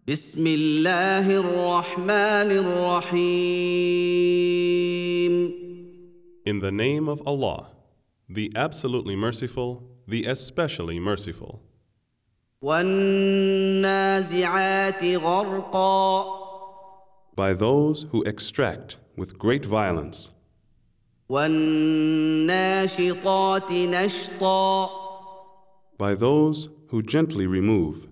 بسم الله الرحمن الرحيم In the name of Allah, the absolutely merciful, the especially merciful. والنازعات غرقا By those who extract with great violence, والناشطات نشطا by those who gently remove,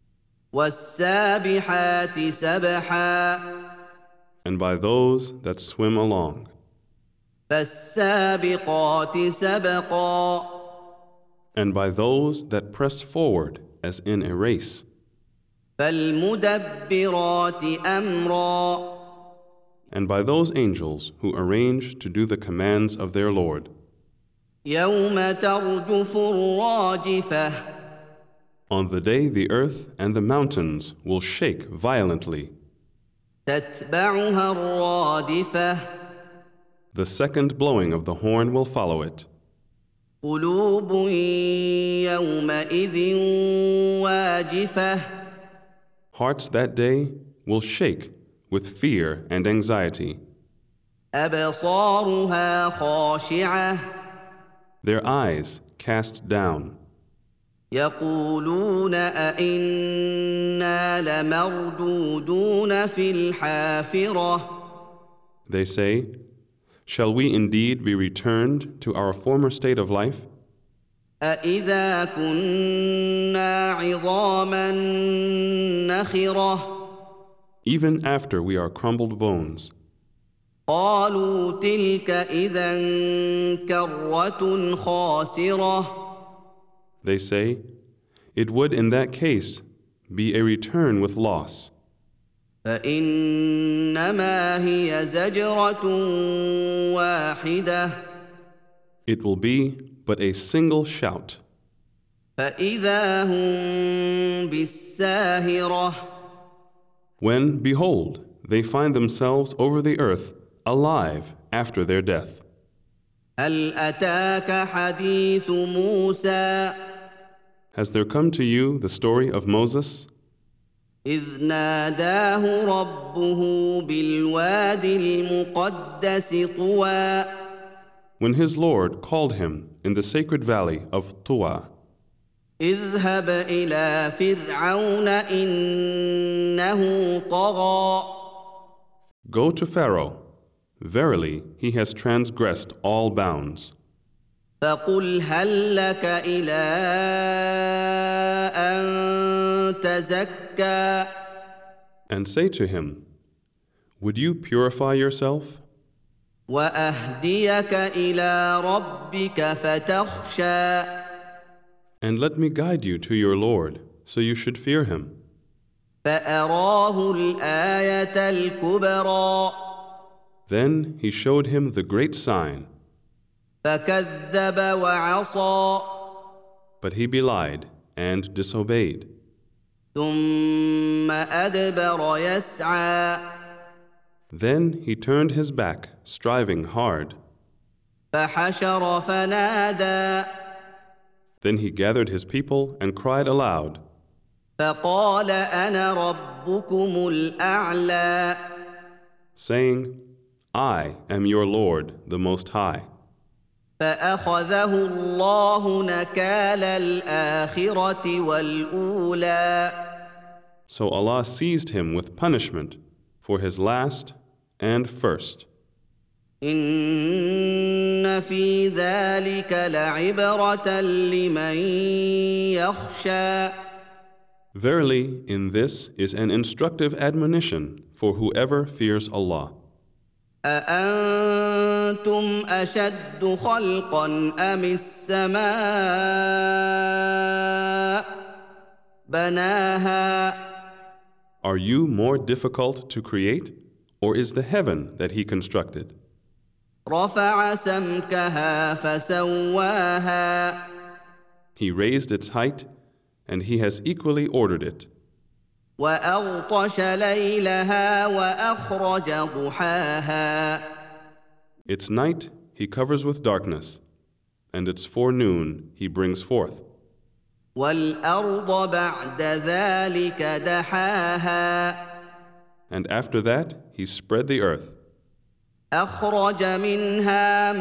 والسابحات سبحا and by those that swim along, فالسابقات سبقا and by those that press forward as in a race, فالمدبرات أمرا and by those angels who arrange to do the commands of their Lord. يوم ترجف الراجفة On the day the earth and the mountains will shake violently, تتبعها الرادفة the second blowing of the horn will follow it. قلوب يومئذ واجفة Hearts that day will shake with fear and anxiety. أبصارها خاشعة Their eyes cast down. يقولون أئنا لمردودون في الحافرة They say, shall we indeed be returned to our former state of life? أإذا كنا عظاما نخرة Even after we are crumbled bones. قالوا تلك إذا كرة خاسرة They say, it would in that case be a return with loss. فإنما هي زجرة واحدة It will be but a single shout. فإذا هم بالساهرة When, behold, they find themselves over the earth alive after their death. هل أتاك حديث موسى Has there come to you the story of Moses, إذ ناداه ربه بالواد المقدس طوى when his Lord called him in the sacred valley of Tuwa? اذهب إلى فرعون إنه طغى Go to Pharaoh. Verily, he has transgressed all bounds. فقل هل لك إلى أن تزكى And say to him, would you purify yourself? وأهديك إلى ربك فتخشى And let me guide you to your Lord, so you should fear him. فأراه الآية الكبرى Then he showed him the great sign, فكذب وعصى but he belied and disobeyed. ثم أدبر يسعى Then he turned his back, striving hard. فحشر فنادى Then he gathered his people and cried aloud, فقال أنا ربكم الأعلى saying, I am your Lord, the Most High. فأخذه الله نكال الآخرة والأولى So Allah seized him with punishment for his last and first. إن في ذلك لعبرة لمن يخشى Verily, in this is an instructive admonition for whoever fears Allah. أأنتم أشد خلقا أم السماء بناها Are you more difficult to create, or is the heaven that He constructed? رفع سمكها فسواها He raised its height, and He has equally ordered it. وأغطش ليلها وأخرج ضحاها Its night He covers with darkness, and its forenoon He brings forth. وَالْأَرْضَ بَعْدَ ذَلِكَ دَحَاهَا And after that he spread the earth, أَخْرَجَ مِنْهَا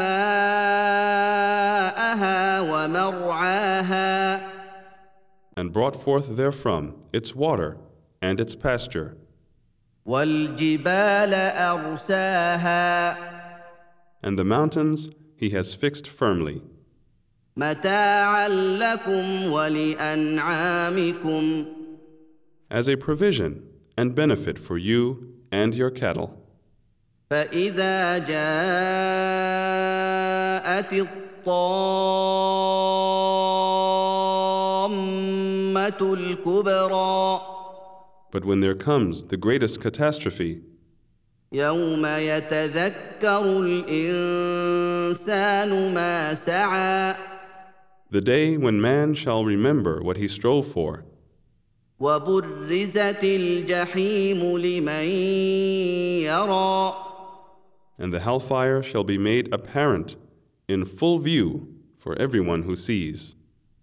مَاءَهَا وَمَرْعَاهَا and brought forth therefrom its water and its pasture, وَالْجِبَالَ أَرْسَاهَا and the mountains he has fixed firmly, مَتَاعًا لَكُمْ وَلِأَنْعَامِكُمْ as a provision and benefit for you and your cattle. فَإِذَا جَاءَتِ الطَّامَّةُ الْكُبْرَى But when there comes the greatest catastrophe, يَوْمَ يَتَذَكَّرُ الْإِنسَانُ مَا سَعَى the day when man shall remember what he strove for, وَبُرِّزَتِ الْجَحِيمُ لِمَن يَرَىٰ and the hellfire shall be made apparent in full view for everyone who sees.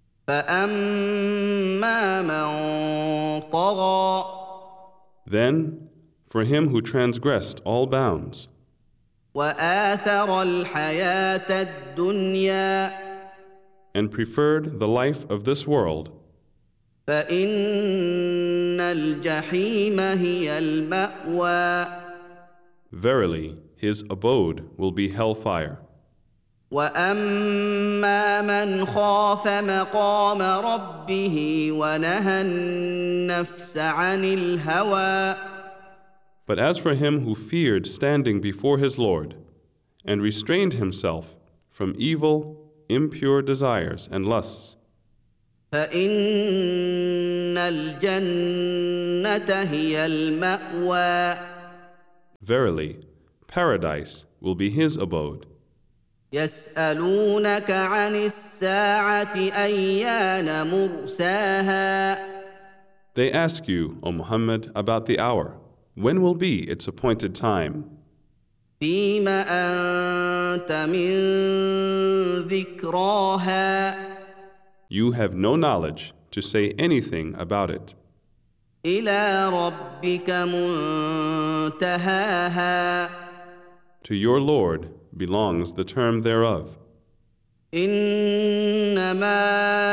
فَأَمَّا مَن طَغَىٰ Then, for him who transgressed all bounds, وَآثَرَ الْحَيَاةَ الدُّنْيَا and preferred the life of this world, فَإِنَّ الْجَحِيمَ هِيَ الْمَأْوَىٰ verily his abode will be hellfire. وَأَمَّا مَنْ خَافَ مَقَامَ رَبِّهِ وَنَهَى النَّفْسَ عَنِ الْهَوَىٰ But as for him who feared standing before his Lord, and restrained himself from evil, impure desires and lusts, فَإِنَّ الْجَنَّةَ هِيَ الْمَأْوَىٰ verily paradise will be his abode. يَسْأَلُونَكَ عَنِ السَّاعَةِ أَيَّانَ مُرْسَاهَا They ask you, O Muhammad, about the hour. When will be its appointed time? فِيمَ أَنتَ مِن ذِكْرَاهَا You have no knowledge to say anything about it. إِلَىٰ رَبِّكَ مُنتَهَاهَا To your Lord belongs the term thereof. إِنَّمَا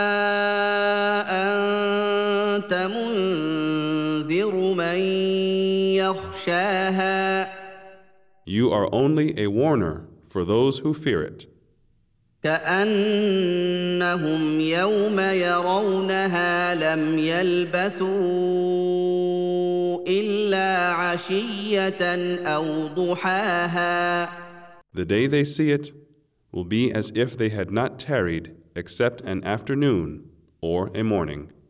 أَنتَ مُنذِرُ مَن يَخْشَاهَا You are only a warner for those who fear it. كَأَنَّهُمْ يَوْمَ يَرَوْنَهَا لَمْ يَلْبَثُوا إِلَّا عَشِيَّةً أَوْ ضُحَاهَا The day they see it will be as if they had not tarried except an afternoon or a morning.